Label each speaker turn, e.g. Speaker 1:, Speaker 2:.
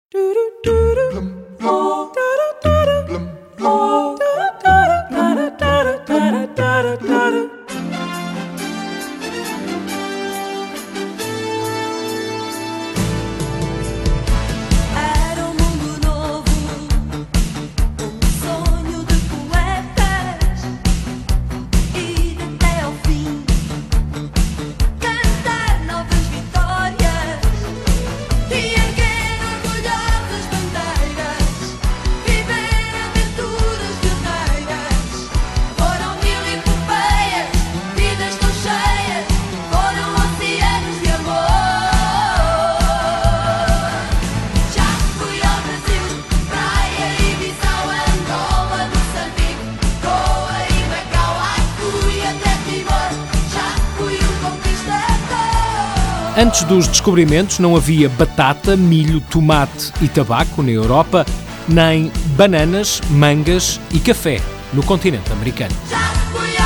Speaker 1: Era um mundo novo, um sonho de poetas, e até ao fim cantar novas vitórias e erguer orgulhosas bandeiras, viver aventuras guerreiras. Foram mil epopeias, vidas tão cheias, foram oceanos de amor. Já fui ao Brasil, Praia e Bissau, Angola, Moçambique, Goa e Macau, ai fui até Timor, já fui um conquistador.
Speaker 2: Antes dos descobrimentos não havia batata, milho, tomate e tabaco na Europa, nem bananas, mangas e café no continente americano.
Speaker 1: Já fui